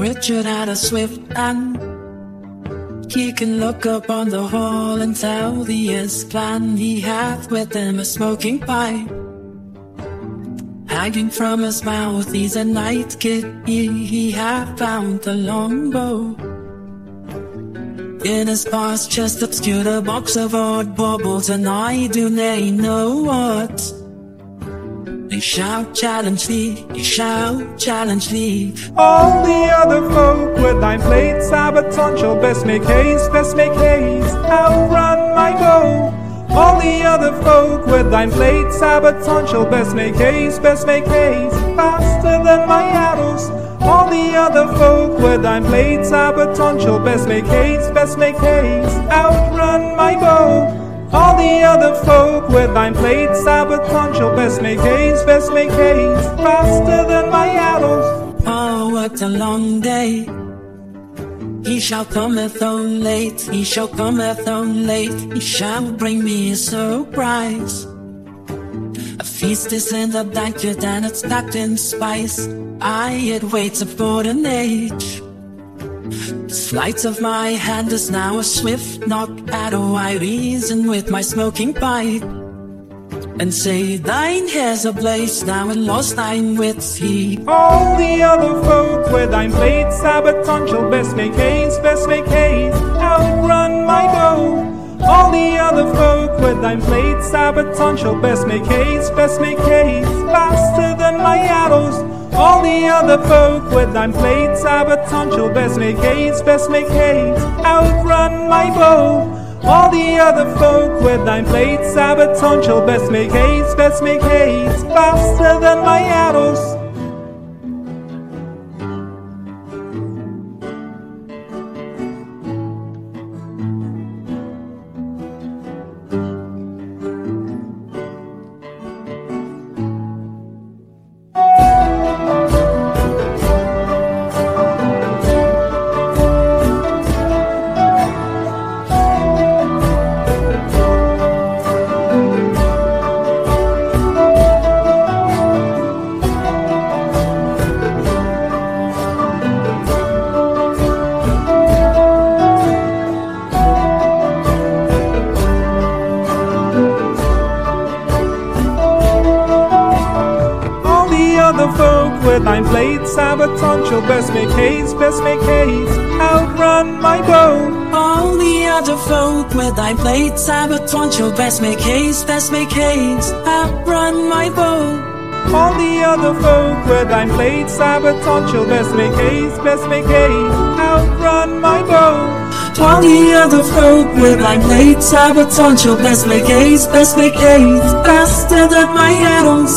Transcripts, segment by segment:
Richard had a swift hand. He can look up on the hall and tell the year's plan. He hath with him a smoking pipe hanging from his mouth. He's a night kid, he hath found the longbow. In his past chest obscured a box of odd baubles, and I do they know what. He shall challenge thee, he shall challenge thee. All the other folk with thine plate sabaton shall best make haste, outrun my bow. All the other folk with thine plate sabaton shall best make haste, faster than my arrows. All the other folk with thine plate sabaton shall best make haste, outrun my bow. All the other folk with thine plate sabaton shall best make haste, faster than my arrows. Oh, what a long day. He shall cometh on late, he shall cometh on late. He shall bring me a surprise. A feast is in the banquet and it's packed in spice. It waits for an age. The sleight of my hand is now a swift knock at a I reason with my smoking pipe, and say thine hair's ablaze now and lost thine wits he. All the other folk with thine plate sabaton shall best make haste, outrun my bow. All the other folk with thine plate sabaton shall best make haste, faster than my arrows. All the other folk with thine plate sabaton shall best make haste, outrun my bow. All the other folk with thine plate sabaton shall best make haste, faster than my arrows. Thine plate sabaton shall best make haste, outrun my bow. All the other folk with thy plate sabaton shall best make haste, outrun my bow. All the other folk with thine plate sabaton shall best make haste, outrun my bow. All the other folk with thy plate sabaton shall best make haste, faster than my arrows.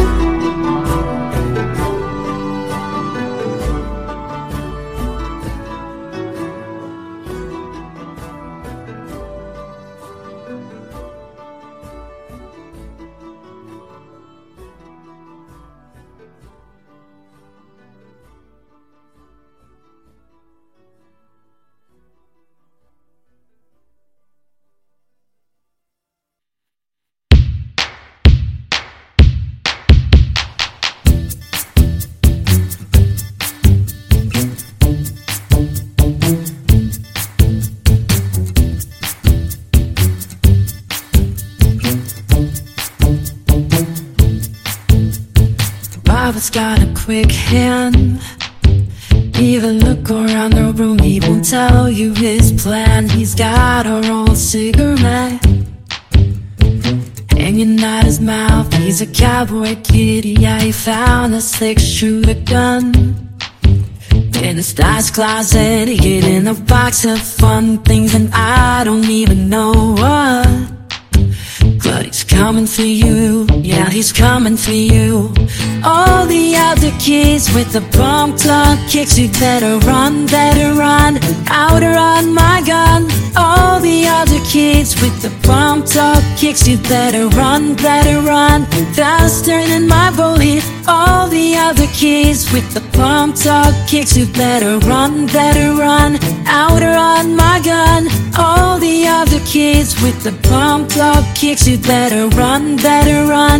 Bob's got a quick hand. Even look around the room, he won't tell you his plan. He's got a rolled cigarette hanging out his mouth. He's a cowboy kid, yeah, he found a six-shooter gun in his dad's closet, hidden a box of fun things, and I don't even know what. But he's coming for you, yeah, he's coming for you. All the other kids with the pumped up kicks, you better run, outrun my gun. All the other kids with the pumped up kicks, you better run, faster than my bullet. All the other kids with the pumped up kicks, you better run, outrun my gun. All the other kids with the pumped up kicks, you better run,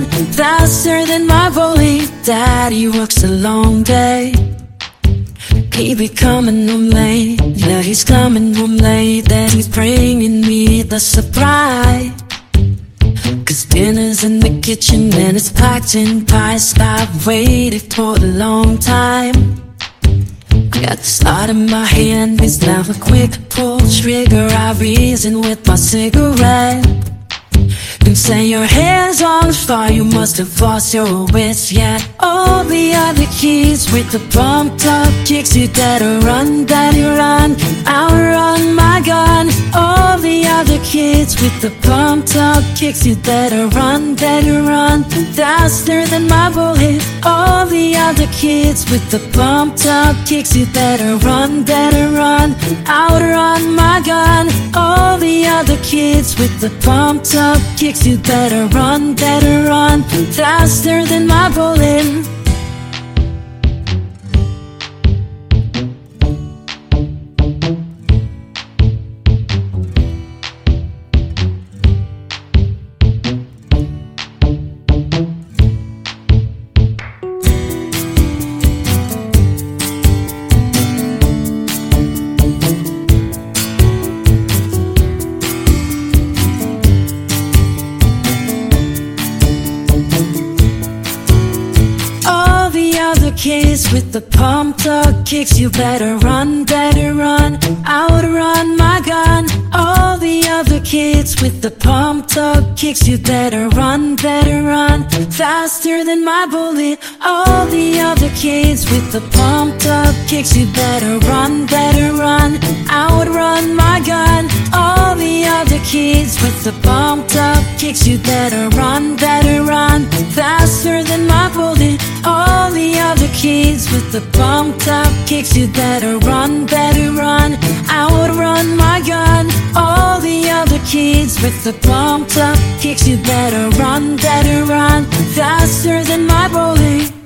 faster than my bullet. Daddy works a long day, He be coming home late, yeah, he's coming home late, and he's bringing me the surprise. Cause dinner's in the kitchen and it's packed in pies. I've waited for a long time. Got the start in my hand, it's now a quick pull trigger. I reason with my cigarette. You say your hair's on fire, you must have lost your wits yet. All the other kids with the pumped up kicks, you better run, outrun my gun. All the other kids with the pumped up kicks, you better run, faster than my bullet. All the other kids with the pumped up kicks, you better run, outrun my gun. All the other kids with the pumped up kicks, you better run, faster than my bullet. Kids with the pumped up kicks, you better run, outrun my gun. All the other kids with the pumped up kicks, you better run, faster than my bullet. All the other kids with the pumped up kicks, you better run, outrun my gun. All the other kids with the pumped up kicks, you better run, faster than my bullet. All the other kids with the pumped up kicks, you better run, outrun my gun. All the other kids with the pumped up kicks, you better run, faster than my bullet.